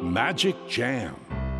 Magic Jam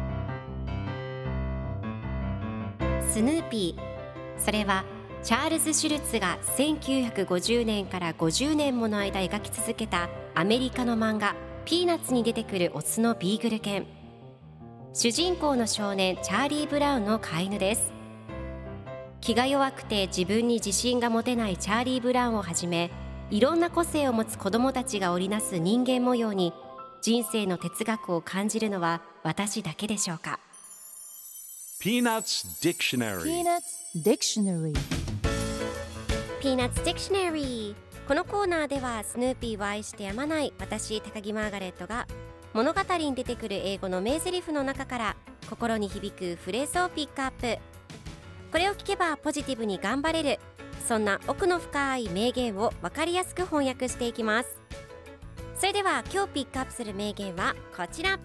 スヌーピー、それはチャールズ・シュルツが1950年から50年もの間描き続けたアメリカの漫画ピーナッツに出てくるオスのビーグル犬。主人公の少年チャーリー・ブラウンの飼い犬です。気が弱くて自分に自信が持てないチャーリー・ブラウンをはじめ、いろんな個性を持つ子どもたちが織りなす人間模様に人生の哲学を感じるのは私だけでしょうか。 Peanuts Dictionary Peanuts Dictionary Peanuts Dictionary。 このコーナーではスヌーピーを愛してやまない私高木マーガレットが物語に出てくる英語の名台詞の中から心に響くフレーズをピックアップ。これを聞けばポジティブに頑張れる、そんな奥の深い名言を分かりやすく翻訳していきます。それでは今日ピックアップする名言はこちら。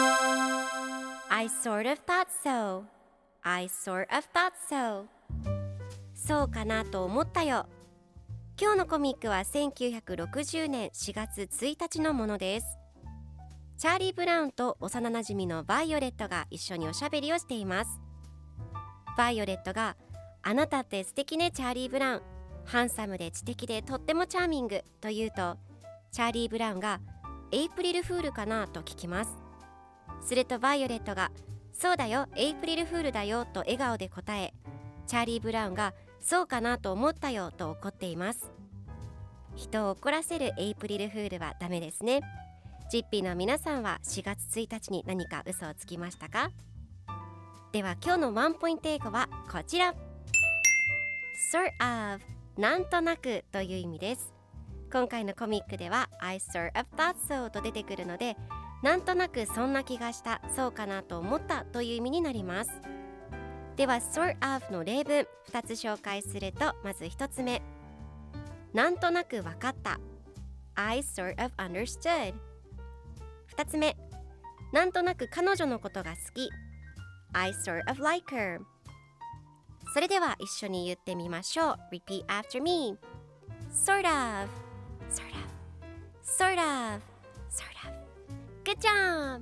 I sort of thought so I sort of thought so。 そうかなと思ったよ。今日のコミックは1960年4月1日のものです。チャーリー・ブラウンと幼なじみのバイオレットが一緒におしゃべりをしています。バイオレットが、あなたって素敵ねチャーリー・ブラウン、ハンサムで知的でとってもチャーミングと言うと、チャーリー・ブラウンがエイプリルフールかなと聞きます。するとバイオレットが、そうだよエイプリルフールだよと笑顔で答え、チャーリー・ブラウンがそうかなと思ったよと怒っています。人を怒らせるエイプリルフールはダメですね。ジッピーの皆さんは4月1日に何か嘘をつきましたか？では今日のワンポイント英語はこちら。 sort of なんとなくという意味です。今回のコミックでは I sort of thought so と出てくるので、なんとなくそんな気がした、そうかなと思ったという意味になります。では sort of の例文2つ紹介すると、まず1つ目、なんとなく分かった I sort of understood。 2つ目、なんとなく彼女のことが好き I sort of like her。 それでは一緒に言ってみましょう。 Repeat after me。 Sort of Sort of Sort of Sort of Good job。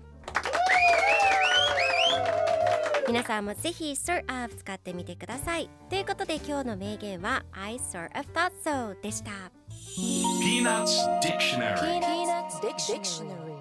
皆さんもぜひ sort of 使ってみてください。ということで今日の名言は I sort of thought so でした。 Peanuts Dictionary Peanuts Dictionary